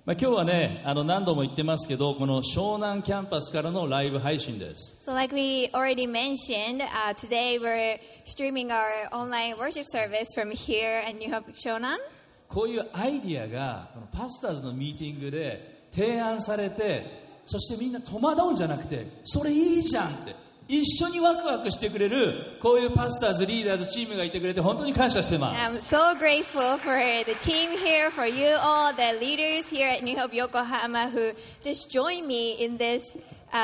今日はね、何度も言ってますけど、この湘南キャンパスからのライブ配信です。 So like we already mentioned, today we're streaming our online worship service from here at New Hope Shonan. こういうアイディアがこのパスターズのミーティングで提案されて、そしてみんな戸惑うんじゃなくて、それいいじゃんって一緒にワクワクしてくれるこういうパスターズ、リーダーズ、チームがいてくれて本当に感謝してま I'm す。 so grateful for the team here, for you all, the leaders here at New Hope Yokohama who just join me in this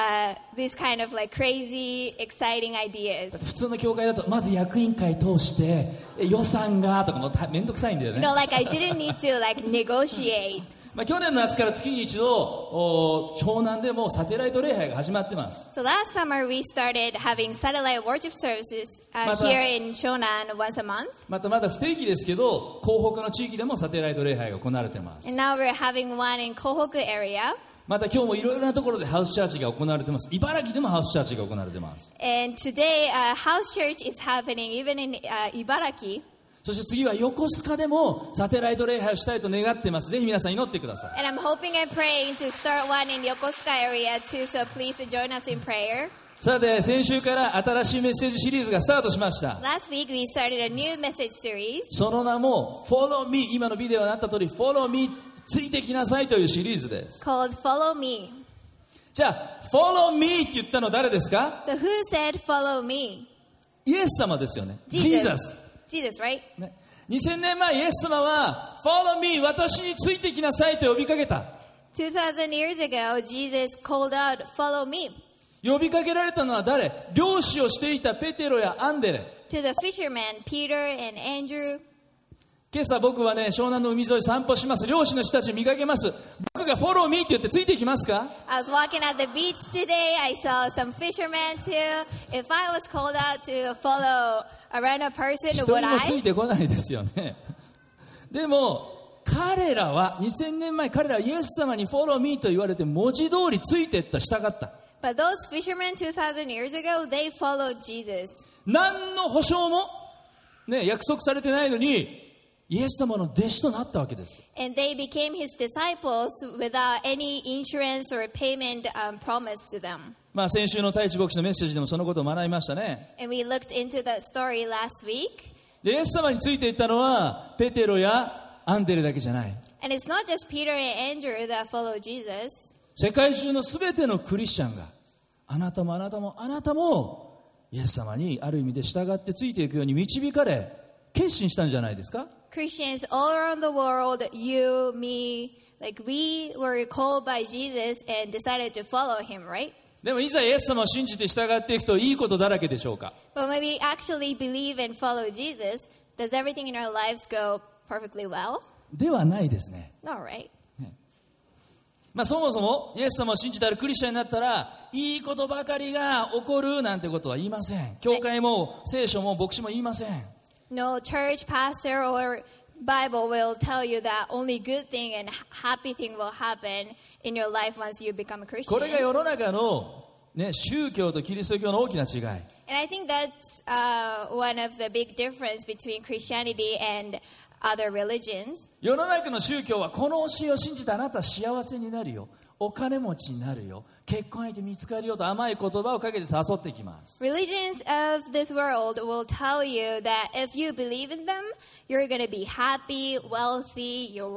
kind of like crazy, exciting ideas. 普通の教会だとまず役員会通して予算がとかもめんどくさいんだよ You ね。 know, like I didn't need to like negotiate. 去年の夏から月に一度湘南でもサテライト礼拝が始まってます。 So last summer we started having satellite worship services here in Shonan once a month. まだ不定期ですけど、港北の地域でもサテライト礼拝が行われています。 And now we're having one in Kohoku area. また今日もいろいろなところでハウスチャーチが行われています。茨城でもハウスチャーチが行われています。 And today house church is happening even in Ibaraki. そして次は横須賀でもサテライト礼拝をしたいと願っています。ぜひ皆さん祈ってください。 And I'm hoping and praying to start one in Yokosuka area too, so please join us in prayer. さて、先週から新しいメッセージシリーズがスタートしました。 Last week we started a new message series その名も Follow Me、 今のビデオにあった通り Follow Me、 ついてきなさいというシリーズです。 called Follow Me. じゃあ Follow Me って言ったの誰ですか？ So who said Follow Me? イエス様ですよね。 Jesus, right? ね、2000年前イエス様は Follow me、 私についてきなさいと呼びかけた。 2000 years ago, Jesus called out, Follow me, 呼びかけられたのは誰？漁師をしていたペテロやアンデレ。 to the fishermen, Peter and Andrew. 今朝僕はね、湘南の海沿い散歩します。漁師の人たち見かけます。僕が Follow me って言ってついていきますか？ I was walking at the beach today. I saw some fishermen too. If I was called out to follow a random person, 一 would 人もつ I? いてこないですよね。でも彼らは2000年前、彼らはイエス様に Follow me と言われて文字通りついていった、従った。 But those fishermen 2,000 years ago, they followed Jesus. 何の保証も、ね、約束されてないのにイエス様の弟子となったわけです。 And they became his disciples without any insurance or payment promised to them. 先週の太一牧師のメッセージでもそのことを学びましたね。 And we looked into that story last week. でイエス様についていったのはペテロやアンデレだけじゃない。 And it's not just Peter and Andrew that follow Jesus. 世界中のすべてのクリスチャンが、あなたもあなたもあなたもイエス様にある意味で従ってついていくように導かれ、決心したんじゃないですか？ Christians all around the world, you, me, like we were called by Jesus and decided to follow him, right? でもいざイエス様を信じて従っていくといいことだらけでしょうか？ But when we actually believe and follow Jesus, does everything in our lives go perfectly well? ではないですね。 No, right? そもそもイエス様を信じたらクリスチャンになったらいいことばかりが起こるなんてことは言いません。教会も聖書も牧師も言いません。 No church pastor or Bible will tell you that only good thing and happy thing will happen in your life once you become a これが Christian. 世の中の、宗教とキリスト教の大きな違い。 And I think that's one of the big difference between Christianity and other religions. 世の中の宗教はこの教えを信じてあなた幸せになるよ、お金持ちになるよ、結婚相手見つかるよと甘い言葉をかけて誘ってきます。 Religions of this world will tell you that if you believe in them, you're going to be happy, wealthy, your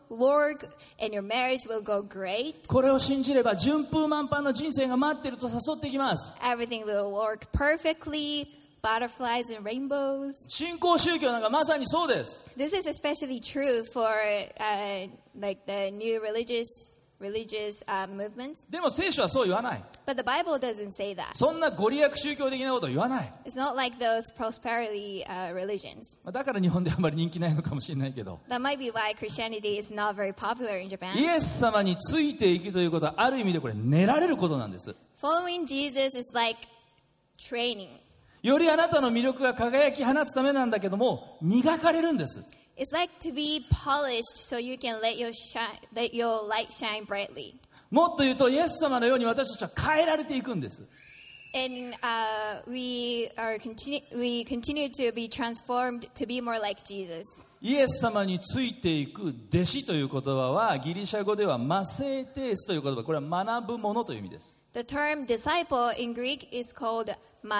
work and your marriage will go great. これを信じれば順風満帆の人生が待っていると誘ってきます。 Everything will work perfectly, butterflies and rainbows. 新興宗教なんかまさにそうです。 This is especially true for like the new religious movements. でも聖書はそう言わない。 But the Bible doesn't say that. そんなご利益宗教的なことを言わない。 It's not like those prosperity religions. だから日本であまり人気ないのかもしれないけど、 That might be why Christianity is not very popular in Japan. イエス様についていくということはある意味でこれ練られることなんです。 Following Jesus is like training. よりあなたの魅力が輝き放つためなんだけども、磨かれるんです。 It's like to be polished so you can let your light shine brightly. もっと言うとイエス様のように私たちは変えられていくんです。 And we continue to be transformed to be more like Jesus. イエス様についていく弟子という言葉はギリシャ語ではマセーテースという言葉、これは学ぶものという意味です。 The term disciple in Greek is called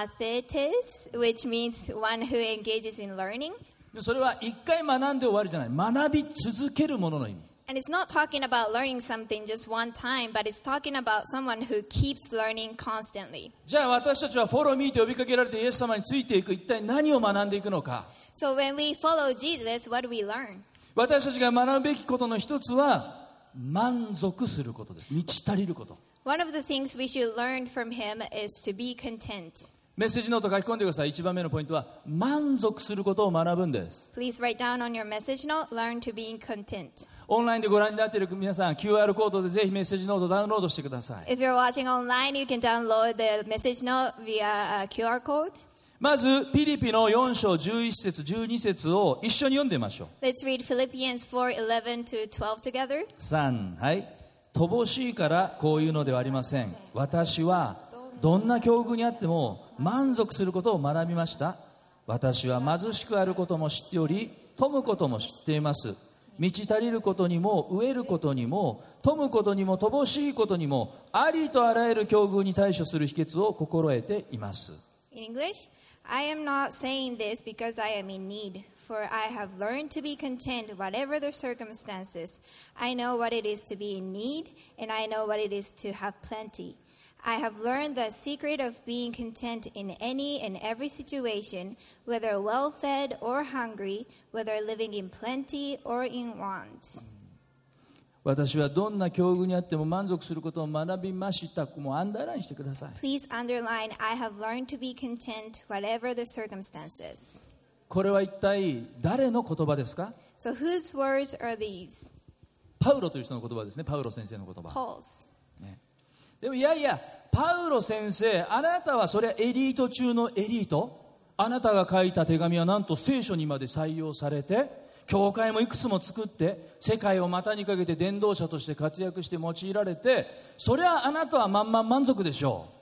mathetes, which means one who engages in learning. それは一回学んで終わりじゃない、学び続けるものの意味。 And it's not talking about learning something just one time, but it's talking about someone who keeps learning constantly. じゃあ私たちはフォローミーと呼びかけられてイエス様についていく、一体何を学んでいくのか。 So when we follow Jesus, what do we learn? 私たちが学ぶべきことの一つは満足することです。満ち足りること。 One of the things we should learn from him is to be content. メッセージノート書き込んでください。1番目のポイントは満足することを学ぶんです。 Please write down on your message note, learn to be content. オンラインでご覧になっている皆さん QR コードでぜひメッセージノートダウンロードしてください。 If you're watching online, you can download the message note via a QR code. まずピリピの4章11節12節を一緒に読んでみましょう。 Let's read Philippians 4:11 to 12 together. 3、はい。乏しいからこういうのではありません。私はどんな境遇にあっても満足することを学びました。私は貧しくあることも知っており、富むことも知っています。満ち足りることにも飢えることにも富むことにも乏しいことにもありとあらゆる境遇に対処する秘訣を心得ています。 In English, I am not saying this because I am in need, for I have learned to be content whatever the circumstances. I know what it is to be in need, and I know what it is to have plenty. I have learned the secret of being content in any and every situation, whether well-fed or hungry, whether living in plenty or in want. 私はどんな境遇にあっても満足することを学びました。もうアンダーラインしてください。 Please underline, I have learned to be content whatever the circumstances. これは一体誰の言葉ですか？ So whose words are these? パウロという人の言葉ですね。パウロ先生の言葉。 Paul's. でもいやいや、パウロ先生、あなたはそれはエリート中のエリート。あなたが書いた手紙はなんと聖書にまで採用されて、教会もいくつも作って世界を股にかけて伝道者として活躍して用いられて、そりゃあなたは満足でしょう。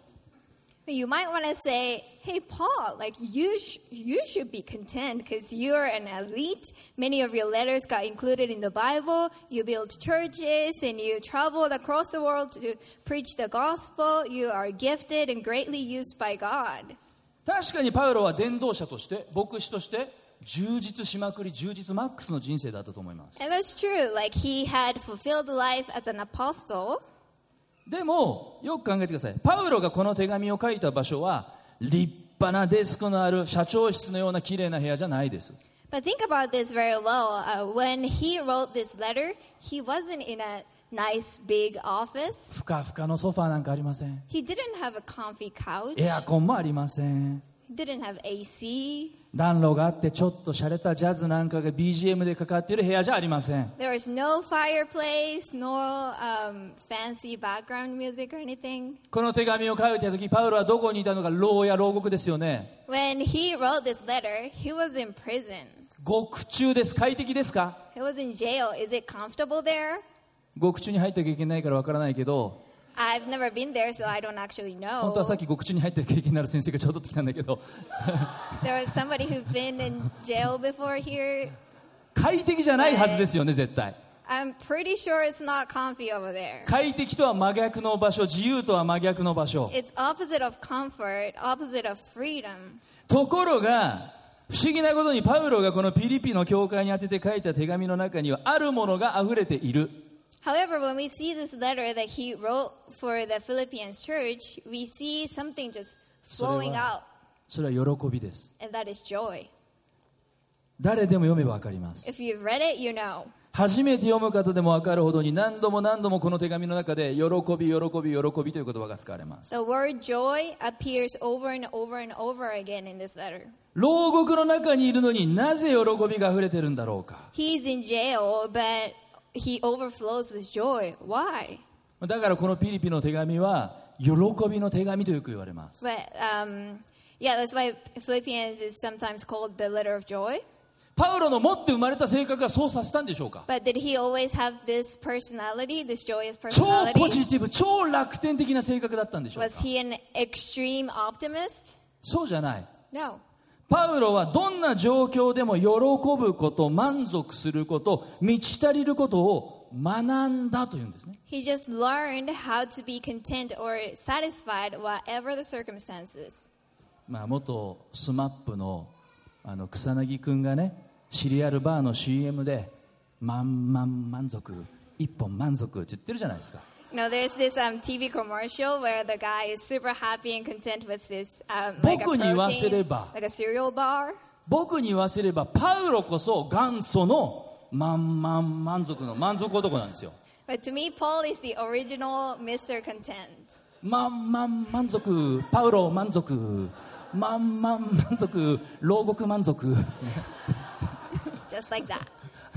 You might want to say, hey, Paul, like you should be content because you're an elite. Many of your letters got included in the Bible. You built churches and you traveled across the world to preach the gospel. You are gifted and greatly used by God. 確かにパウロは伝道者として牧師として充実しまくり、充実マックスの人生だったと思います。 And that's true. Like he had fulfilled life as an apostle. でもよく考えてください。パウロがこの手紙を書いた場所は立派なデスクのある社長室のような綺麗な部屋じゃないです。 But think about this very well. When he wrote this letter, he wasn't in a nice big office. ふかふかのソファーなんかありません。 He didn't have a comfy couch. エアコンもありません。 He didn't have AC. 暖炉があってちょっと洒落たジャズなんかが BGM でかかっている部屋じゃありません。 There was no fireplace, no fancy background music or anything. この手紙を書いた時パウロはどこにいたのか？牢や牢獄ですよね。 When he wrote this letter, he was in prison. 獄中です。快適ですか？ He was in jail. Is it comfortable there? 獄中に入った経験ないからわからないけど、 I've never been there, so I don't actually 本当はさっ know. き獄中に入った経験のある先生がちょうどってきたんだけど There was somebody who'd been in jail before here. 快適じゃないはずですよね、絶対。 I'm pretty sure it's not comfy over there. 快適とは真逆の場所、自由とは真逆の場所。 It's opposite of comfort, opposite of freedom. ところが不思議なことにパウロがこのピリピの教会に宛てて書いた手紙の中にはあるものがあふれている。 However, when we see this letter that he wrote for the Philippians church, we see something just flowing out, それは喜びです。 and that is joy. 誰でも読めばわかります。 If you've read it, you know. 初めて読む方でもわかるほどに何度も何度もこの手紙の中で喜び、喜び、喜びという言葉が使われます。 The word joy appears over and over and over again in this letter. 牢獄の中にいるのになぜ喜びがあふれてるんだろうか。 He's in jail, but he overflows with joy. Why? だからこのピリピの手紙は喜びの手紙とよく言われます。 But yeah, that's why Philippians is sometimes called the letter of joy. パウロの持って生まれた性格がそうさせたんでしょうか。 But did he always have this personality, this joyous 超ポ personality? ジティブ、超楽天的な性格だったんでしょうか。 Was he an extreme optimist? そうじゃない。 No. パウロはどんな状況でも喜ぶこと、満足すること、満ち足りることを学んだというんですね。 He just learned how to be content or satisfied whatever the circumstances. 元スマップの草薙くんがね、シリアルバーの CM で満足、一本満足って言ってるじゃないですか。 There's this TV commercial where the guy is super happy and content with this like a 僕に言わせれ protein, ば like a cereal bar. 僕に言わせればパウロこそ元祖の満足の満足男なんですよ。 But to me, Paul is the original Mr. Content. 満足、パウロ満足、満足、牢獄満足。 Just like that.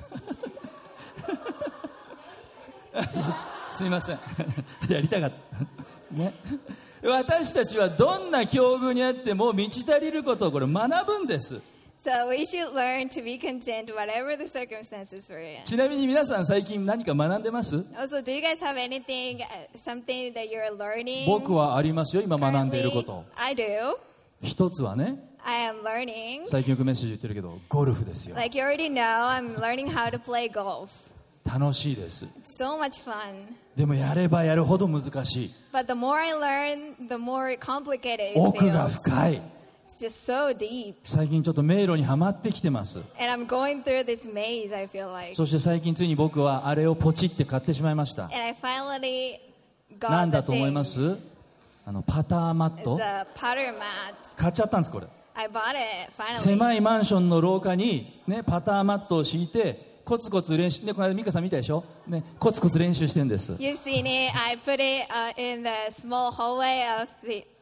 すいませんやりたかったね。私たちはどんな境遇にあっても満ち足りることをこれ学ぶんです。 So we should learn to be content whatever the circumstances we're in. ちなみに皆さん最近何か学んでます？ Also, do you guys have anything, something that you're learning? 僕はありますよ、今学んでいること。 I do. 一つはね、 I am learning. 最近よくメッセージ言ってるけどゴルフですよ。 Like you already know, I'm learning how to play golf. 楽しいです。 So much fun. でもやればやるほど難しい。 But the more I learn, the more complicated it 奥が feels. 深い。 It's just so deep. 最近ちょっと迷路にはまってきてます。 And I'm going through this maze, I feel like. そして最近ついに僕はあれをポチって買ってしまいました。 And I finally な got ん the だと思いま thing. す？パターマッ It's ト a powder mat. 買っちゃったんです。これ I bought it, finally. 狭いマンションの廊下に、ね、パターマットを敷いてコツコツ練習、ね、この間美香さん見たでしょ、ね、コツコツ練習してるんです。 You've seen it. I put it in the small hallway of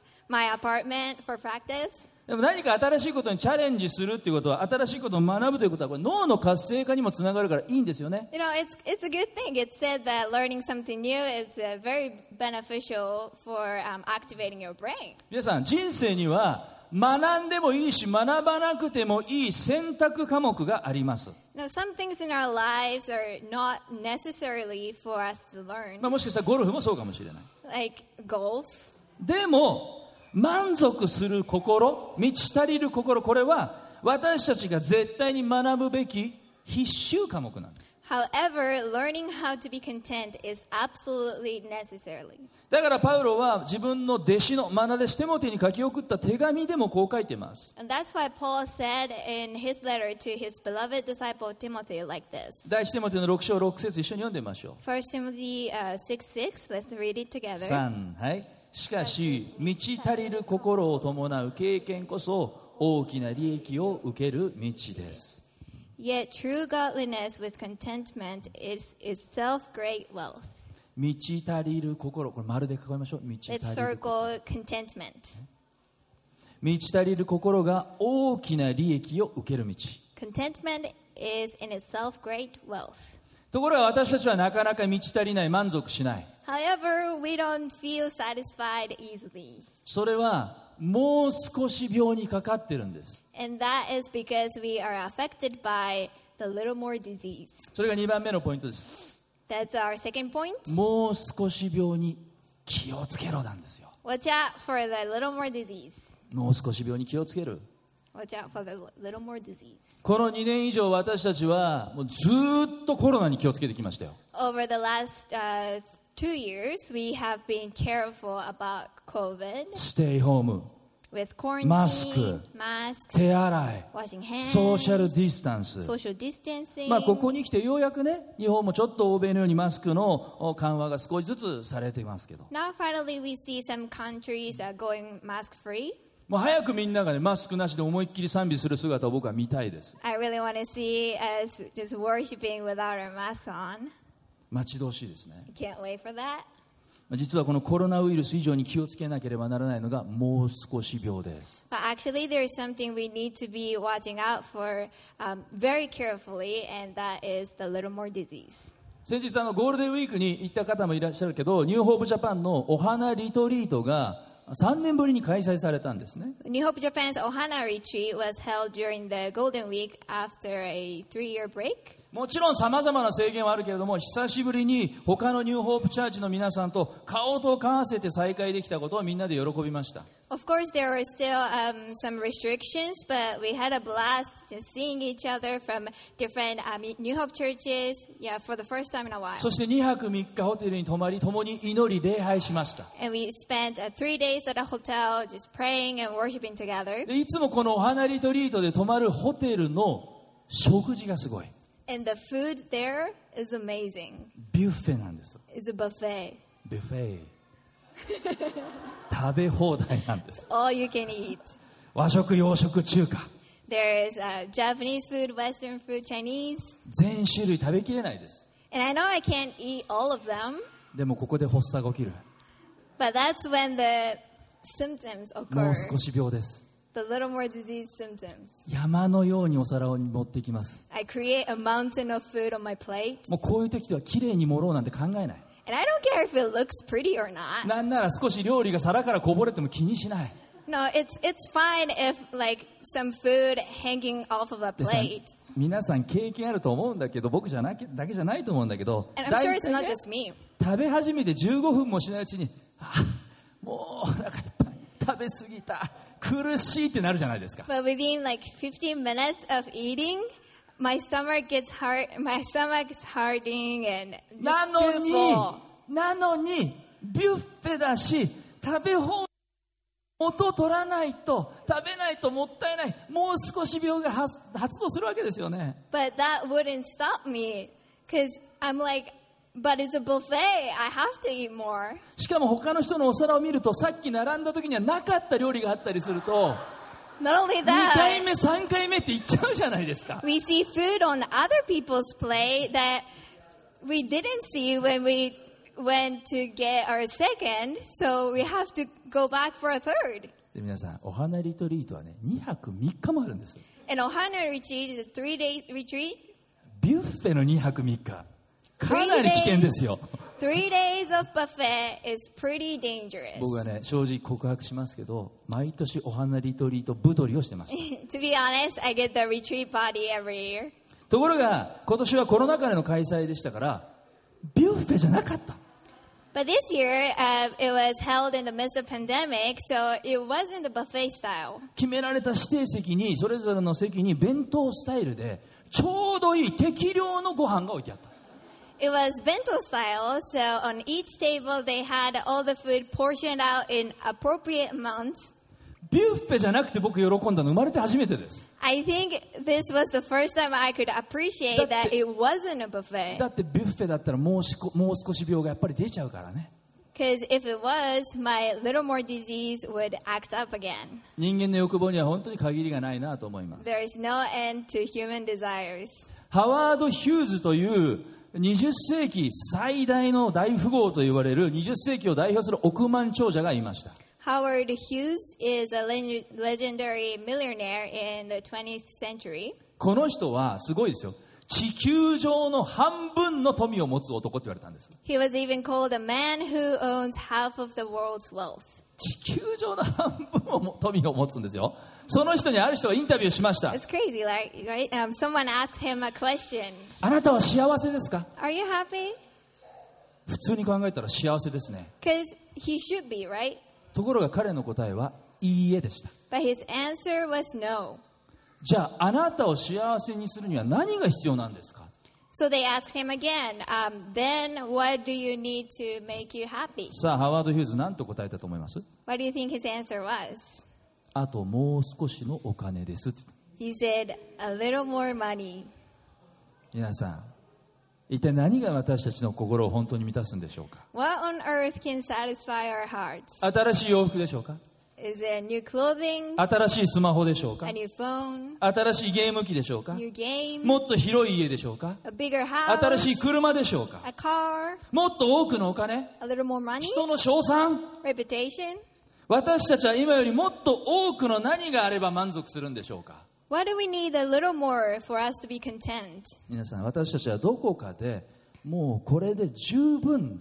my apartment for practice. でも何か新しいことにチャレンジするっていうことは、新しいことを学ぶということは、これ脳の活性化にもつながるからいいんですよね。 It's a good thing. It's said that learning something new is very beneficial for activating your brain. 皆さん、人生には学んでもいいし学ばなくてもいい選択科目があります。 Some things in our lives are not necessarily for us to learn, もしかしたらゴルフもそうかもしれない。 like golf. でも満足する心、満ち足りる心、これは私たちが絶対に学ぶべき必修科目なんです。 However, learning how to be content is absolutely necessary. だからパウロは自分の弟子の愛弟子テモテに書き送った手紙でもこう書いています。 And that's why Paul said in his letter to his beloved disciple Timothy like this. 第一テモテの6章6節一緒に読んでみましょう。 1 Timothy 6:6. Let's read it together. 3、はい。しかし満ち足りる心を伴う経験こそ大きな利益を受ける道です。 Yet true godliness with contentment is itself great wealth. 満ち足りる心、これ丸で囲いましょう。満ち Let's 足りる心。 circle contentment. 満ち足りる心が大きな利益を受ける道。 Contentment is in itself great wealth. ところが私たちはなかなか満ち足りない、満足しない。 However, we don't feel satisfied easily. それはもう少し病にかかってるんです。 And that is because we are affected by the little more disease. それが2番目のポイントです。 That's our second point. もう少し病に気をつけろなんですよ。 Watch out for the little more disease. もう少し病に気をつける。 Watch out for the little more disease. この2年以上私たちはもうずっとコロナに気をつけてきましたよ。 Over the last 2 years, we have been careful about COVID ステイホーム、 with quarantine, マスク、 masks, 手洗い、 washing hands, ソーシャルディスタンス。 social distancing. ここに来てようやくね、日本もちょっと欧米のようにマスクの緩和が少しずつされていますけど、 Now finally we see some countries going mask free. もう早くみんながね、マスクなしで思いっきり賛美する姿を僕は見たいです。 I really want to see us just worshiping without our masks on. 待ち遠しいですね。 I can't wait for that. 実はこのコロナウイルス以上に気をつけなければならないのがもう少し病です。 But actually, there is something we need to be watching out for very carefully, and that is the little more disease. 先日ゴールデンウィークに行った方もいらっしゃるけど、ニューホープジャパンのお花リトリートが 3年ぶりに開催されたんですね。 New Hope Japan's Ohana retreat was held during the Golden Week after a 3-year break. もちろん様々な制限はあるけれども、久しぶりに他のニューホープチャーチの皆さんと顔と顔合わせて再会できたことをみんなで喜びました。 Of course, there were still some restrictions, but we had a blast just seeing each other from different New Hope churches, yeah, for the first time in a while. そして2泊3日ホテルに泊まり、共に祈り礼拝しました。 And we spent 3 days at a hotel just praying and worshiping together. でいつもこのお花リトリートで泊まるホテルの食事がすごい。 And the food there is amazing. ビュッフェなんです。 It's a buffet. ビュッフェ食べ放題なんです。 All you can eat. 和食、洋食、中華 There's Japanese food, Western food, Chinese. 全種類食べきれないです。 And I know I can't eat all of them, でもここで発作が起きる。 but that's when the symptoms も occur. う少し病です。 The little more disease symptoms. 山のようにお皿を持ってきます。 I create a mountain of food on my plate. もうこういう時ではきれいに盛ろうなんて考えない。 And I don't care if it looks pretty or not. なんなら少し料理が皿からこぼれても気にしない。 No, it's fine if like some food hanging off of a でさ plate. 皆さん経験あると思うんだけど、僕じゃなきだけじゃないと思うんだけど、 And I'm sure it's 大 not 体ね just me. 食べ始めて15分もしないうちに、もうお腹いっぱい、食べ過ぎた、苦しいってなるじゃないですか。 But within like 15 minutes of eating, my stomach gets hurting and な just の too に full. ビュッフェだし、食べ放題元を取らないと、食べないともったいない、もう少し病が発動するわけですよね。 But that wouldn't stop me because I'm like, but it's a buffet. I have to eat more. しかも他の人のお皿を見ると、さっき並んだ時にはなかった料理があったりすると、 Not only 2回 that, 目3回目って言っちゃうじゃないですか。 we see food on other people's plate that we didn't see when we went to get our second, so we have to go back for a third. で皆さん、お花リトリートはね、2泊3日もあるんです。 And Ohana retreat is a 3-day retreat. ビュッフェの2泊3日、かなり危険ですよ。 3 days of buffet is pretty dangerous. 僕はね、正直告白しますけど、毎年お花リトリート太りをしてました。 To be honest, I get the retreat party every year. ところが今年はコロナ禍での開催でしたから、ビュッフェじゃなかった。 But this year, it was held in the midst of pandemic, so it wasn't the buffet style. 決められた指定席に、それぞれの席に弁当スタイルでちょうどいい適量のご飯が置いてあった。 It was bento style, so on each table they had all the food portioned out in appropriate amounts. ビュッフェじゃなくて僕喜んだの生まれて初めてです。 I think this was the first time I could appreciate that it wasn't a buffet. だってビュッフェだったらもう少し病がやっぱり出ちゃうからね。 Because if it was, my little more disease would act up again. 人間の欲望には本当に限りがないなと思います。 There is no end to human desires. ハワード・ヒューズという20世紀最大の大富豪と言われる20世紀を代表する億万長者がいました。 Howard Hughes is a legendary millionaire in the 20th century. この人はすごいですよ。地球上の半分の富を持つ男って言われたんです。 He was even called a man who owns half of the world's wealth. 地球上の半分を富を持つんですよ。その人にある人がインタビューしました。 It's crazy, right? Someone asked him a question. あなたは幸せですか？ Are you happy? 普通に考えたら幸せですね。 Because he should be, right? ところが彼の答えはいいえでした。 But his answer was no. じゃああなたを幸せにするには何が必要なんですか？ So they asked him again, then what do you need to make you happy? さあハワード・ヒューズ何と答えたと思います？ What do you think his answer was? あともう少しのお金ですって。 He said, a little more money. 皆さん、一体何が私たちの心を本当に満たすんでしょうか？ What on earth can satisfy our hearts? 新しい洋服でしょうか？ Is it new clothing, 新しいスマホでしょうか？ a new phone, 新しいゲーム機でしょうか？ new game, もっと広い家でしょうか？ a bigger house, 新しい車でしょうか？ a car, もっと多くのお金？ a little more money, 人の称賛？ reputation? 私たちは今よりもっと多くの何があれば満足するんでしょうか？ Why do we need a little more for us to be content? 皆さん、私たちはどこかでもうこれで十分だ、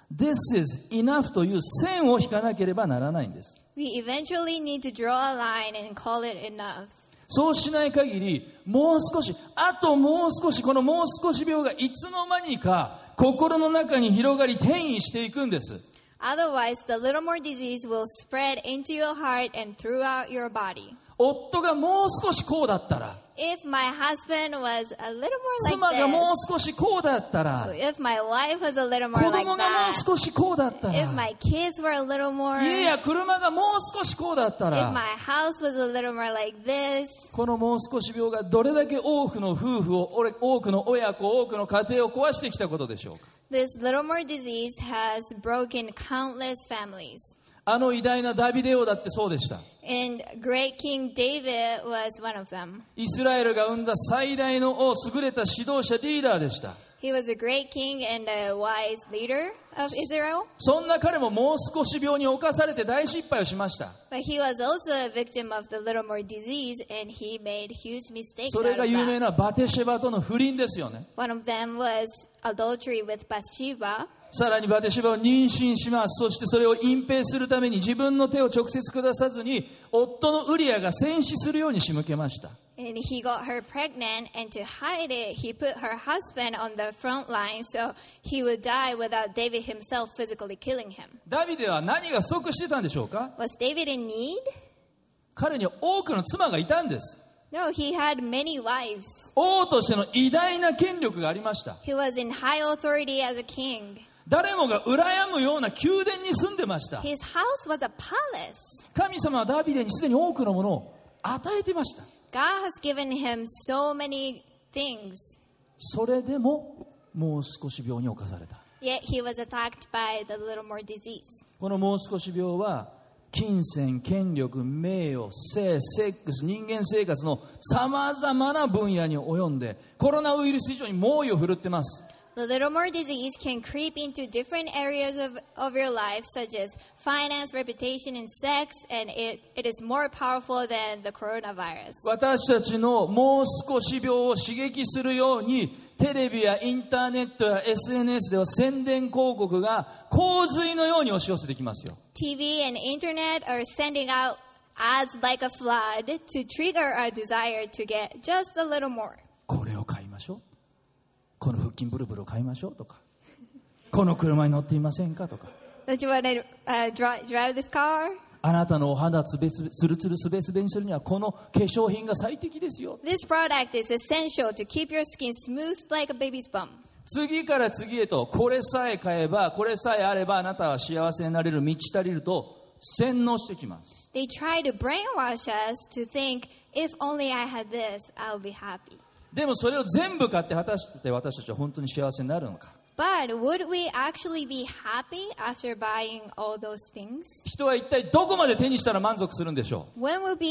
This is enough という線を引かなければならないんです。 We eventually need to draw a line and call it enough. そうしない限り、もう少し、あともう少し、このもう少し病がいつの間にか心の中に広がり転移していくんです。 Otherwise, the little more disease will spread into your heart and throughout your body. 夫がもう少しこうだったら、 If my husband was a little more 妻が like もう this, 少しこうだったら、 if my wife was a little 子 more like 供がもう that, 少しこうだったら、 if my kids were a little more, 家や車がもう少しこうだった if ら、 my house was a little more like this, このもう少し病がどれだけ多くの夫婦を、多くの親子、多くの家庭を壊してきたことでしょうか。 this little more disease has broken countless families. あの偉大なダビデ王だってそうでした。 And great King David was one of them. イスラエルが生んだ最大の王、優れた指導者、リーダーでした。 He was a great king and a wise leader of Israel. そんな彼ももう少し病に侵されて大失敗をしました。 But he was also a victim of the little more disease, and he made huge mistakes それ out が of 有名 that. なバテシェバとの不倫ですよね。 One of them was adultery with Bathsheba. さらにバテシェバを妊娠します。そしてそれを隠蔽するために自分の手を直接下さずに夫のウリアが戦死するように仕向けました。 And he got her pregnant, and to hide it, he put her husband on the front line so he would die without David himself physically killing him. ダビデは何が不足してたんでしょうか。 Was David in need? 彼には多くの妻がいたんです。 No, he had many wives. 王としての偉大な権力がありました。 He was in high authority as a king. 誰もが羨むような宮殿に住んでました。 His house was a palace. 神様はダビデにすでに多くのものを与えてました。 God has given him so many things. それでももう少し病に侵された。 Yet he was attacked by the little more disease. このもう少し病は金銭、権力、名誉、性、セックス、人間生活のさまざまな分野に及んでコロナウイルス以上に猛威を振るってます。 The little more disease can creep into different areas of your life, such as finance, reputation, and sex, and it is more powerful than the coronavirus. 私たちのもう少し病を刺激するようにテレビやインターネットや SNS では宣伝広告が洪水のように押し寄せてきますよ。 TV and internet are sending out ads like a flood to trigger our desire to get just a little more. これを買いましょう。この腹筋ブルブルを買いましょうとか、この車に乗っていませんかとか、 Don't you want to drive this car? あなたのお肌つるつるすべすべにするにはこの化粧品が最適ですよ。 This product is essential to keep your skin smooth like a baby's bum. 次から次へとこれさえ買えばこれさえあればあなたは幸せになれる、満ち足りると洗脳してきます。 They try to brainwash us to think, if only I had this, I would be happy. でもそれを全部買って果たして私たちは本当に幸せになるのか。 But would we actually be happy after buying all those things? 人は一体どこまで手にしたら満足するんでしょう。 When would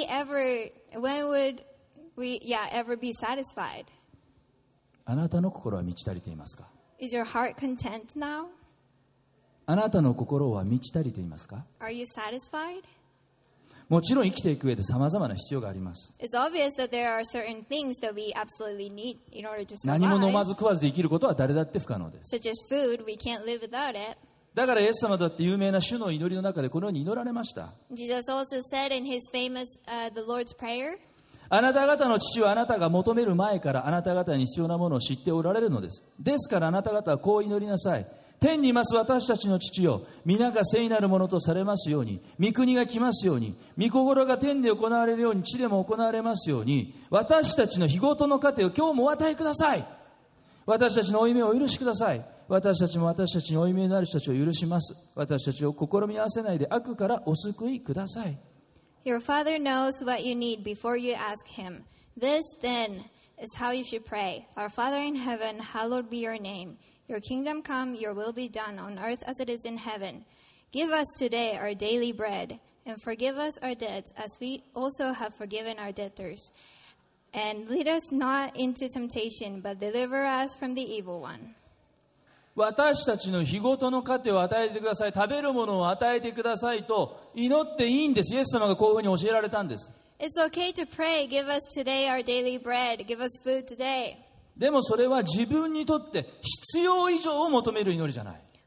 we ever be satisfied? あなたの心は満ち足りていますか。 Is your heart content now? あなたの心は満ち足りていますか。 Are you satisfied? もちろん生きていく上で様々な必要があります。 It's obvious that there are certain things that we absolutely need in order to 何も飲ま survive, ず食わずで生きることは誰だって不可能です。 such as food. We can't live without it. だからイエス様だって有名な主の祈りの中でこのように祈られました。 Jesus also said in his famous the Lord's Prayer, あなた方の父はあなたが求める前からあなた方に必要なものを知っておられるのです。ですからあなた方はこう祈りなさい。天にいます私たちの父よ、皆が聖なるものとされますように、御国が来ますように、御心が天で行われるように地でも行われますように、私たちの日ごとの糧を今日もお与えください。私たちの負い目をお許しください。私たちも私たちに負い目になる人たちを許します。私たちを試み合わせないで悪からお救いください。 Your Father knows what you need before you ask him. This then is how you should pray. Our Father in heaven, hallowed be your name. Your kingdom come, your will be done on earth as it is in heaven. Give us today our daily bread, and forgive us our debts as we also have forgiven our debtors. And lead us not into temptation, but deliver us from the evil one. 私たちの日ごとの糧を与えてください。食べるものを与えてくださいと祈っていいんです。イエス様がこういうふうに教えられたんです。 It's okay to pray, give us today our daily bread, give us food today. でもそれは自分にとって必要以上を求める祈りじゃない。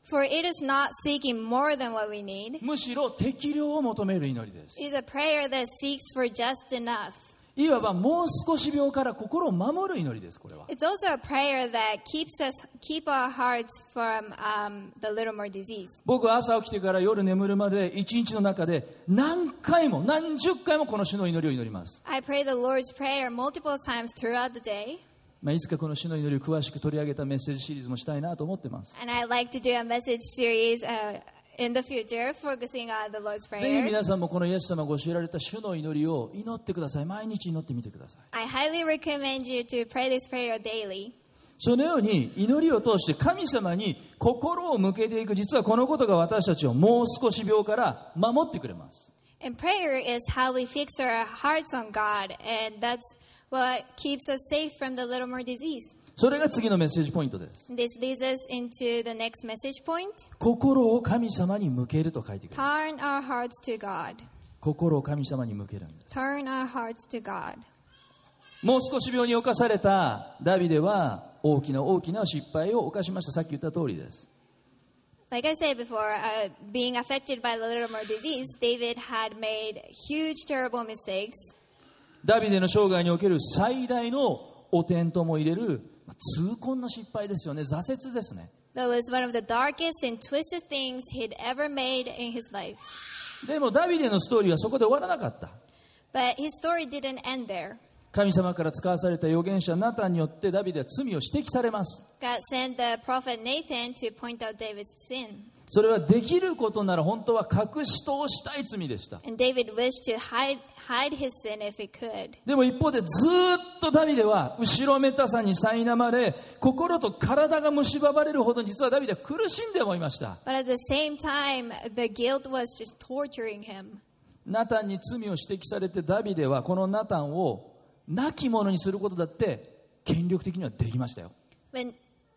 For it is not seeking more than what we need. むしろ適量を求める祈りです。 It is a prayer that seeks for just enough. いわばもう少し病から心を守る祈りです。これは It's also a prayer that keep our hearts from the little more disease. 僕は朝起きてから夜眠るまで一日の中で何回も何十回もこの主の祈りを祈ります。 I pray the Lord's Prayer multiple times throughout the day. いつかこの主の祈りを詳しく取り上げたメッセージシリーズもしたいなと思っています。 And I'd like to do a message series in the future focusing on the Lord's ぜひ Prayer. 皆さんもこのイエス様が教えられた主の祈りを祈ってください。毎日祈ってみてください。 I highly recommend you to pray this prayer daily. そのように祈りを通して神様に心を向けていく、実はこのことが私たちをもう少し病から守ってくれます。 And prayer is how we fix our hearts on God, and that's what keeps us safe from the little more disease. それが次のメッセージポイントです。 This leads us into the next message point. 心を神様に向けると書いてくる。 Turn our hearts to God. 心を神様に向けるんです。 Turn our hearts to God. もう少し病に侵されたダビデは大きな大きな失敗を犯しました。さっき言った通りです。 Like I said before, being affected by the little more disease, David had made huge, terrible mistakes. ダビデの生涯における最大の汚点とも入れる痛恨の失敗ですよね。挫折ですね。 That was one of the darkest and twisted things he'd ever made in his life. でもダビデのストーリーはそこで終わらなかった。 But his story didn't end there. 神様から使わされた預言者ナタンによってダビデは罪を指摘されます。 God sent the prophet Nathan to point out David's sin. それはできることなら本当は隠し通したい罪でした。 And David wished to hide his sin if he could. でも一方でずっとダビデは後ろめたさに苛まれ、心と体が蝕まれるほど実はダビデは苦しんでもいました。 But at the same time, the guilt was just torturing him. ナタンに罪を指摘されてダビデはこのナタンを亡き者にすることだって権力的にはできましたよ。 When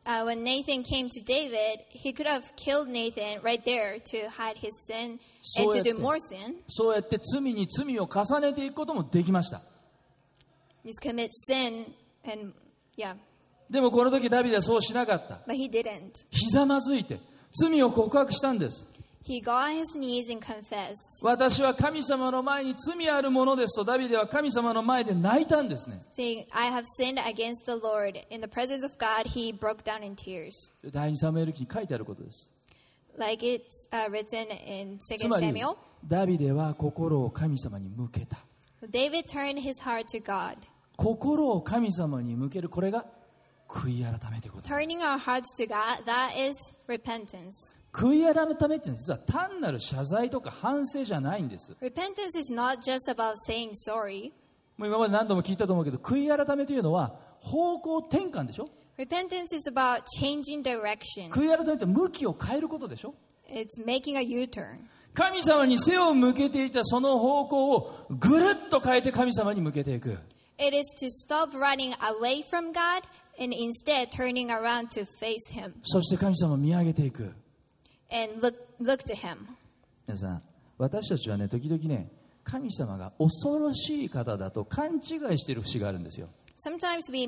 Nathan came to David, he could have killed Nathan right there to hide his sin and to do more sin. そうやって罪に罪を重ねていくこともできました。 Just commit sin and yeah. でもこの時ダビデはそうしなかった。 But he didn't. ひざまずいて罪を告白したんです。 He got on his knees and confessed. 私は神様の前に罪あるものですとダビデは神様の前で泣いたんですね。 Saying, I have sinned against the Lord. In the presence of God, he broke down in tears. 第2サムエル記に書いてあることです。 Like it's written in つ 2 まり Samuel. ダビデは心を神様に向けた。 David turned his heart to God. 心を神様に向ける、これが悔い改めということ。 Turning our hearts to God, that is repentance. 悔い改めって実は単なる謝罪とか反省じゃないんです。 Repentance is not just about saying sorry. もう今まで何度も聞いたと思うけど、悔い改めというのは方向転換でしょ。 Repentance is about changing direction. 悔い改めって向きを変えることでしょ。 It's making a U-turn. 神様に背を向けていたその方向をぐるっと変えて神様に向けていく。 It is to stop running away from God and instead turning around to face Him そして神様を見上げていく。 and look to Him. 皆さん、私たちはね、時々ね、神様が恐ろしい方だと勘違いしている節があるんですよ。 Sometimes we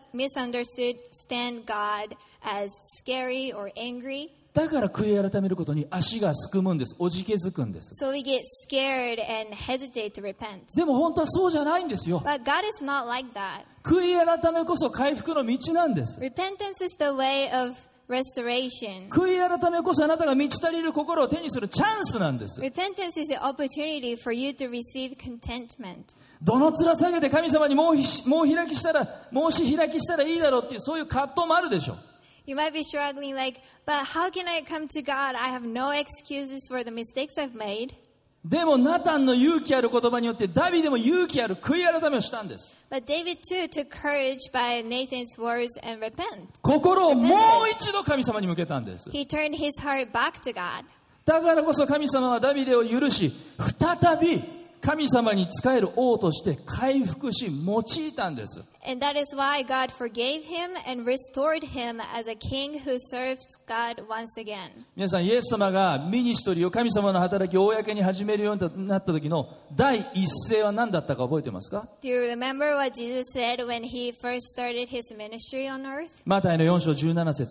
misunderstand God as scary or angry. だから悔い改めることに足がすくむんです。おじけづくんです。 So we get scared and hesitate to repent. でも本当はそうじゃないんですよ。 But God is not like that. 悔い改めこそ回復の道なんです。 Repentance is the way of restoration. 悔い改めこそあなたが満ち足りる心を手にするチャンスなんです。 Repentance is the opportunity for you to receive contentment. どの面下げて神様にもう開きしたらいいだろうっていうそういう葛藤もあるでしょう。 You might be struggling like, but how can I come to God? I have no excuses for the mistakes I've made. でもナタンの勇気ある言葉によってダビデも勇気ある悔い改めをしたんです。 But David too took courage by Nathan's words and repent. 心をもう一度神様に向けたんです。 He turned his heart back to God. だからこそ神様はダビデを許し、再び神様に仕える王として回復し用いたんです。 And that is why God forgave him and restored him as a king who serves God once again. 皆さん、イエス様がミニストリーを神様の働きを公に始めるようになった時の第一声は何だったか覚えてますか？ Do you remember what Jesus said when he first started his ministry on earth? マタイの4章17節。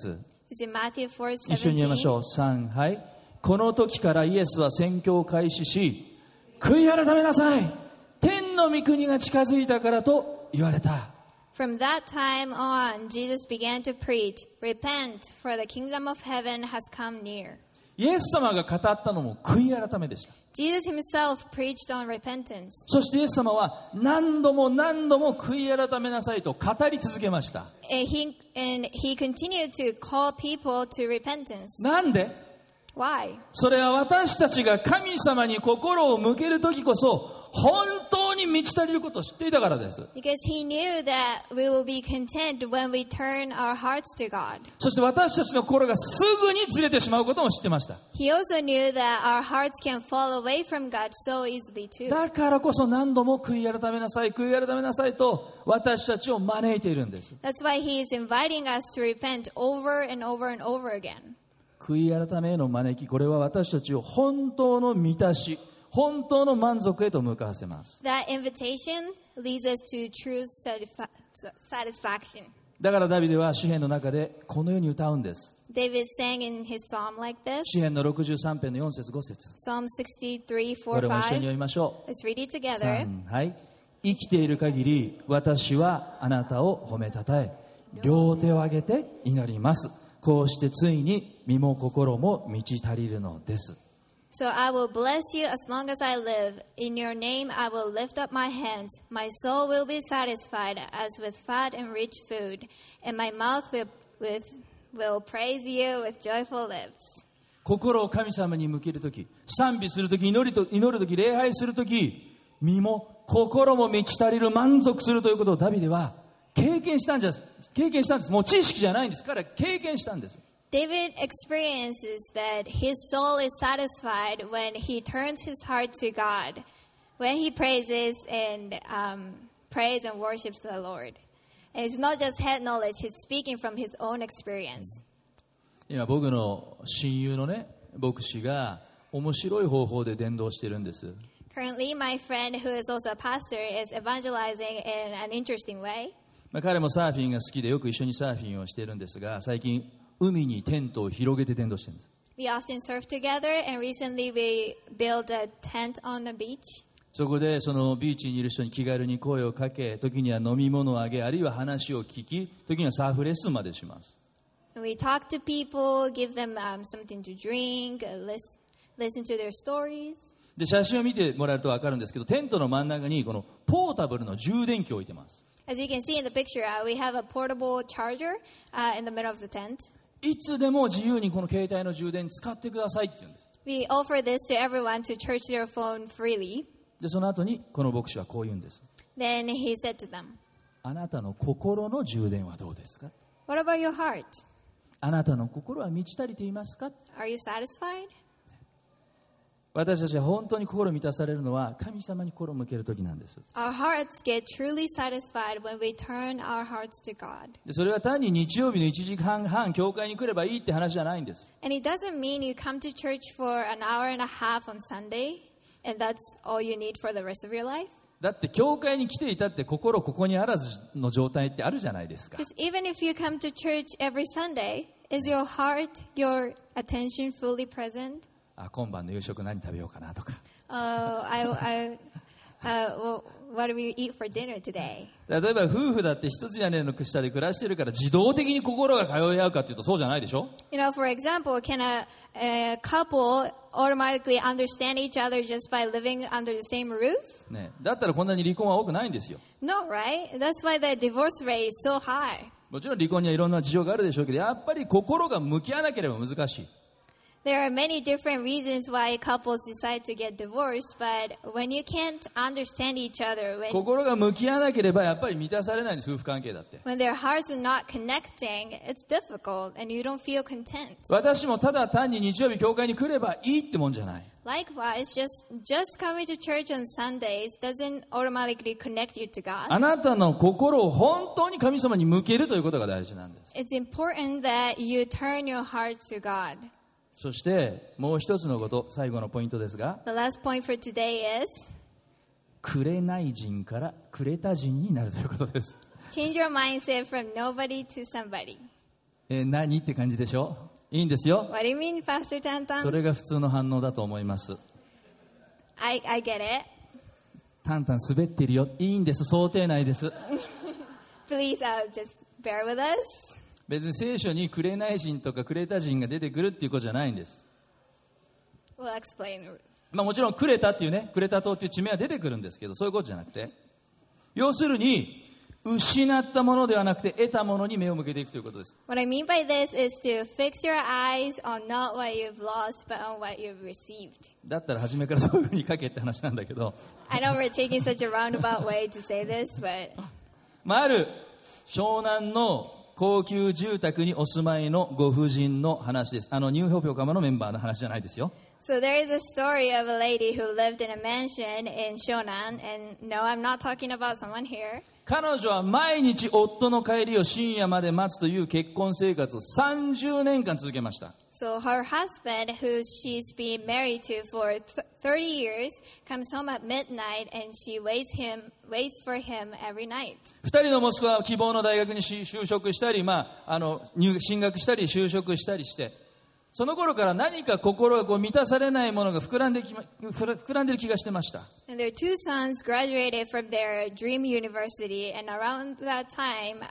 Is it Matthew 一緒に言いまし 4:17? ょう。3、はい。この時からイエスは宣教を開始し、悔い改めなさい。天の御国が近づいたからと言われた。 From that time on, Jesus began to preach, "Repent, for the kingdom of heaven has come near." イエス様が語ったのも悔い改めでした。 Jesus himself preached on repentance. そしてイエス様は何度も何度も悔い改めなさいと語り続けました。 And he continued to call people to repentance. なんで？ Why? それは私たちが神様に心を向けるときこそ本当に満ち足りることを知っていたからです。 Because he knew that we will be content when we turn our hearts to God. そして私たちの心がすぐにずれてしまうことも知ってました。 He also knew that our hearts can fall away from God so easily too. だからこそ何度も悔い改めなさい、悔い改めなさいと私たちを招いているんです。 That's why he is inviting us to repent over and over and over again. 悔い改めへの招き、これは私たちを本当の満たし、本当の満足へと向かわせます。 That invitation leads us to true satisfaction. だからダビデは詩篇の中でこのように歌うんです。 David sang in his psalm like this. 詩篇の63編の4節5節。 Psalm 63, こ 4, れも一緒に読 5. みましょう。 Let's read it together. 3、はい。生きている限り私はあなたを褒めたたえ、両手を上げて祈ります。こうしてついに身も心も満ち足りるのです。 So I will bless you as long as I live. In your name I will lift up my hands. My soul will be satisfied as with fat and rich food, and my mouth will praise you with joyful lips. 心を神様に向けるとき、賛美するとき、祈るとき、礼拝するとき、身も心も満ち足りる、満足するということをダビデは経験したんです。もう知識じゃないんです。彼は経験したんです。 David experiences that his soul is satisfied when he turns his heart to God, when he praises and worships the Lord. And it's not just head knowledge, he's speaking from his own experience. 今僕の親友のね、牧師が面白い方法で伝道しているんです。 Currently, my friend, who is also a pastor, is evangelizing in an interesting way. 彼もサーフィンが好きでよく一緒にサーフィンをしているんですが、最近海にテントを広げて伝道しているんです。 We often surf together, and recently we built a tent on the beach. そこでそのビーチにいる人に気軽に声をかけ、時には飲み物をあげ、あるいは話を聞き、時にはサーフレッスンまでします。 We talk to people, give them something to drink, listen to their stories. で写真を見てもらえると分かるんですけど、テントの真ん中にこのポータブルの充電器を置いてます。 As you can see in the picture, we have a portable charger in the middle of the tent. いつでも自由にこの携帯の充電使ってくださいって言うんです。 We offer this to everyone to charge their phone freely. でその後にこの牧師はこう言うんです。 Then he said to them, あなたの心の充電はどうですか？ "What about your heart? あなたの心は満ち足りていますか？ Are you satisfied?" 私たちは本当に心満たされるのは神様に心を向けるときなんです。 Our hearts get truly satisfied when we turn our hearts to God. でそれは単に日曜日の1時間半教会に来ればいいって話じゃないんです。 And it doesn't mean you come to church for an hour and a half on Sunday, and that's all you need for the rest of your life. だって教会に来ていたって心ここにあらずの状態ってあるじゃないですか。 Because even if you come to church every Sunday, is your heart, your attention fully present? 今晩の夕食何食べようかなとか。 What do we eat for dinner today? 例えば夫婦だって一つ屋根の下で暮らしてるから自動的に心が通い合うかっていうとそうじゃないでしょ。 You know, for example, can a couple automatically understand each other just by living under the same roof? ね、だったらこんなに離婚は多くないんですよ。 No, right? That's why the divorce rate is so high. もちろん離婚にはいろんな事情があるでしょうけど、やっぱり心が向き合わなければ難しい。 There are many different reasons why couples decide to get divorced, but when you can't understand each other, 心が向き合わなければやっぱり満たされないんです、夫婦関係だって。 when their hearts are not connecting, it's difficult and you don't feel content. 私もただ単に日曜日教会に来ればいいってもんじゃない。 Likewise, just coming to church on Sundays doesn't automatically connect you to God. あなたの心を本当に神様に向けるということが大事なんです。 It's important that you turn your heart to God. そしてもう一つのこと、最後のポイントですが、 The last point for today is 紅人からクレタ人になるということです。 change your mindset from nobody to somebody. 何って感じでしょ。いいんですよ。 What do you mean, Pastor そ Tantan? れが普通の反応だと思います。 I get it. タンタン滑っているよ。いいんです。想定内です。 Please just bear with us. 別に聖書にクレナイ人とかクレタ人が出てくるっていうことじゃないんです。 We'll explain. もちろんクレタっていうね、クレタ島っていう地名は出てくるんですけど、そういうことじゃなくて、要するに失ったものではなくて得たものに目を向けていくということです。 What I mean by this is to fix your eyes on not what you've lost, but on what you've received. だったら初めからそういうふうに書けって話なんだけど、 I know we're taking such a roundabout way to say this, but ある湘南の高級住宅にお住まいのご婦人の話です。ニューホープ横浜のメンバーの話じゃないですよ。 so there is a story of a lady who lived in a mansion in Shonan, and no, I'm not talking about someone here. 彼女は毎日夫の帰りを深夜まで待つという結婚生活を30年間続けました。 So her husband, who she's been married to for 30 years, comes home at midnight, and she waits for him every night. 2人の息子は希望の大学に就職したり、進学したり就職したりして、その頃から何か心が満たされないものが膨らんでる気がしてました。 And their two sons graduated from their dream university, and around that time,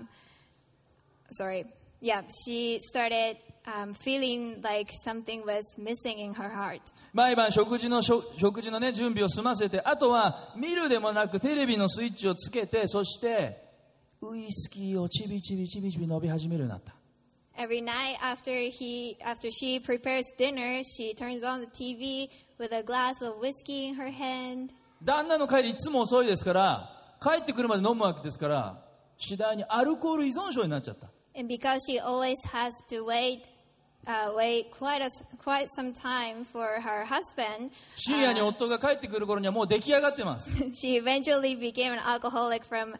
she started feeling like something was missing in her heart. 毎晩食事のね、準備を済ませて、あとは見るでもなくテレビのスイッチをつけて、そしてウイスキーをちびちび飲み始めるようになった。 Every night after she prepares dinner, she turns on the TV with a glass of whiskey in her hand. 旦那の帰りいつも遅いですから、帰ってくるまで飲むわけですから、次第にアルコール依存症になっちゃった。 And because she always has to wait quite some time for her husband, 深夜に夫が帰ってくる頃にはもう出来上がってます。 she eventually became an alcoholic from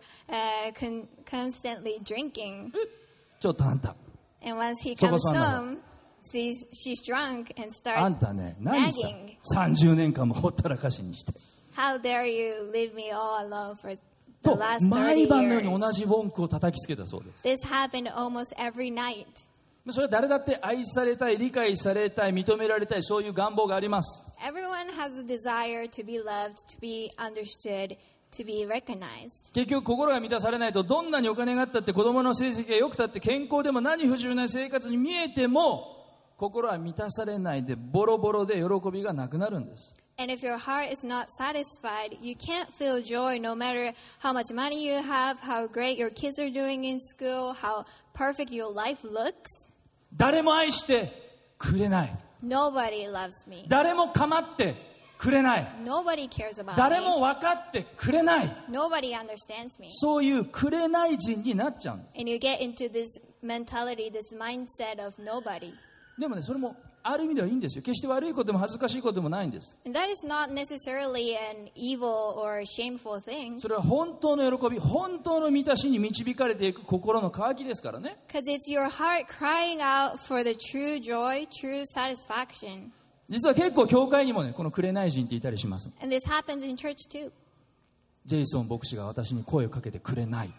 constantly drinking. ちょっとあんた。 And once he comes home, she's drunk and あん starts たね、何さ nagging. 30年間もほったらかしにして。 How dare you leave me all alone for the と last 毎 30 晩のように years? 同じ文句を叩きつけたそうです。 This happened almost every night. それは誰だって愛されたい、理解されたい、認められたい、そういう願望があります。 Everyone has a desire to be loved, to be understood, to be recognized. 結局心が満たされないと、どんなにお金があったって、子供の成績が良くたって、健康でも何不自由ない生活に見えても、心は満たされないでボロボロで喜びがなくなるんです。 And if your heart is not satisfied, you can't feel joy no matter how much money you have, how great your kids are doing in school, how perfect your life looks. 誰も愛してくれない。 Nobody loves me. 誰も構ってくれない。 Nobody cares about 誰 me. も分かってくれない。 Nobody understands me. そういうくれない人になっちゃうんです。 And you get into this mentality, this mindset of nobody. でもね、それもある意味ではいいんですよ。決して悪いことでも恥ずかしいことでもないんです。 And that is not necessarily an evil or shameful thing. それは本当の喜び、本当の満たしに導かれていく心の渇きですからね。 Because it's your heart crying out for the true joy, true satisfaction. 実は結構教会にもね、このくれない人っていたりします。 And this happens in church too. ジェイソン牧師が私に声をかけてくれない。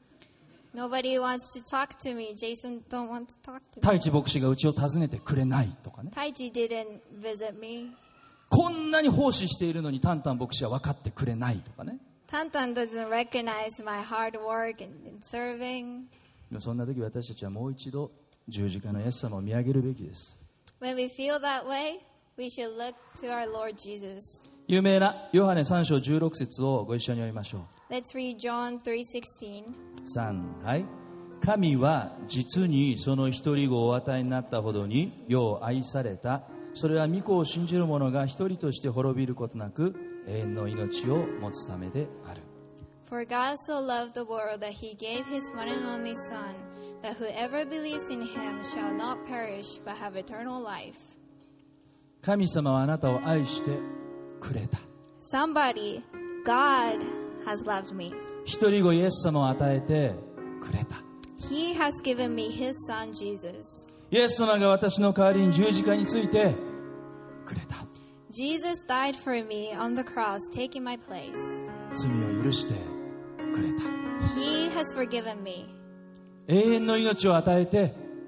Nobody wants to talk to me. Jason don't want to talk to me. 太一牧師がうちを訪ねてくれないとかね。 Taiji didn't visit me. こんなに奉仕しているのにタンタン牧師は分かってくれないとかね。 Tantan doesn't recognize my hard work in serving. でもそんな時私たちはもう一度十字架のイエス様を見上げるべきです。 When we feel that way, we should look to our Lord Jesus. 有名なヨハネ3章16節をご一緒に読みましょう。 Let's read John 3:16. 3、はい。神は実にその一人子をお与えになったほどに世を愛された。それは御子を信じる者が一人として滅びることなく永遠の命を持つためである。 For God so loved the world that he gave his one and only Son, that whoever believes in him shall not perish but have eternal life. 神様はあなたを愛してくれた。 Somebody, God has loved me. 一人子イエス様を与えてくれた。 He has given me his Son Jesus. イエス様が私の代わりに十字架についてくれた。 Jesus died for me on the cross, taking my place. 罪を許してくれた。 He has forgiven me. 永遠の命を与えて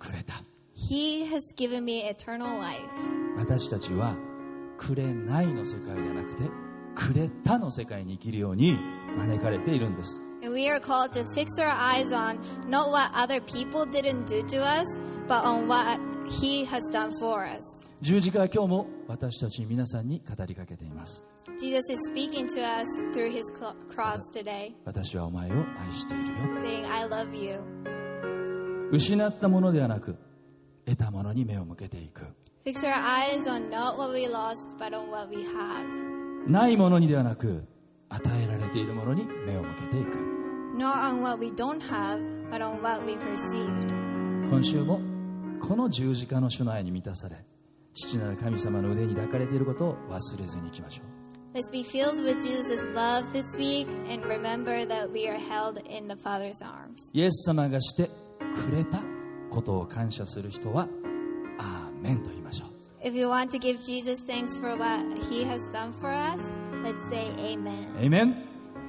くれた。 He has given me eternal life. 私たちはくれないの世界ではなくてくれたの世界に生きるように招かれているんです。 And we are called to fix our eyes on not what other people didn't do to us, but on what He has done for us. 十字架は今日も私たち皆さんに語りかけています。 Jesus is speaking to us through His cross today, 私はお前を愛しているよ。 saying, I love you. 失ったものではなく得たものに目を向けていく。 Fix our eyes on not what we lost, but on what we have. ないものにではなく与えられているものに目を向けていく。 Not on what we don't have, but on what we've received. 今週もこの十字架の主の愛に満たされ、父なる神様の腕に抱かれていることを忘れずにいきましょう。 Let's be filled with Jesus' love this week and remember that we are held in the Father's arms. イエス様がしてくれたことを感謝する人はアーメンと言いましょう。 If you want to give Jesus thanks for what He has done for us, let's say Amen. エイメン。 Amen.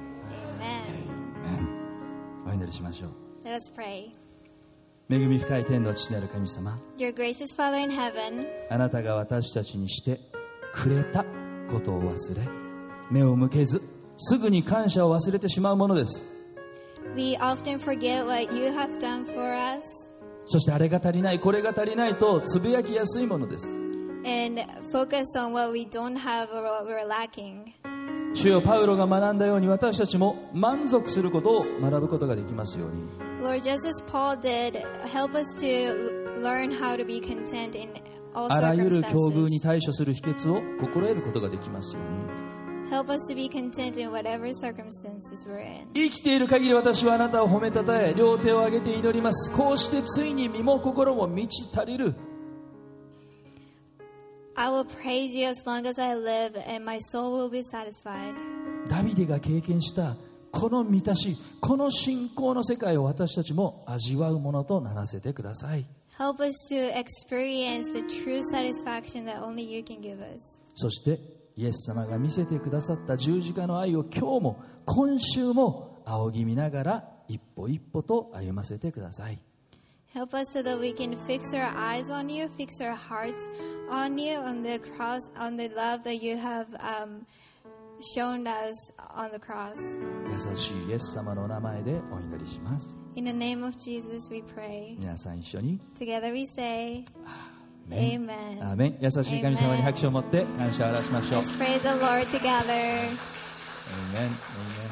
お祈りしましょう。 Let us pray. 恵み深い天の父なる神様、 Dear gracious Father in heaven, あなたが私たちにしてくれたことを忘れ、目を向けずすぐに感謝を忘れてしまうものです。 we often forget what you have done for us そしてあれが足りないこれが足りないとつぶやきやすいものです。 and focus on what we don't have or what we're lacking. 主よ、パウロが学んだように私たちも満足することを学ぶことができますように。 Lord, just as Paul did, help us to learn how to be content in all あらゆる境遇に circumstances. 対処する秘訣を心得ることができますように。 Help us to be content in whatever circumstances we're in. 生きている限り私はあなたを褒めたたえ、両手を上げて祈ります。こうしてついに身も心も満ち足りる。 I will praise you as long as I live, and my soul will be satisfied. ダビデが経験したこの満たし、この信仰の世界を私たちも味わうものとならせてください。 Help us to experience the true satisfaction that only you can give us. そしてイエス様が見せてくださった十字架の愛を今日も今週も仰ぎ見ながら一歩一歩と歩ませてください。 Help us so that we can fix our eyes on you, fix our hearts on you, on the cross, on the love that you have shown us on the cross. 優しいイエス様のお名前でお祈りします。 In the name of Jesus we pray. 皆さん一緒に Together we say, アー Amen. メン。優しい神様に拍手を持って感謝を表しましょう。 Let's praise the Lord together. アーメン。アーメン。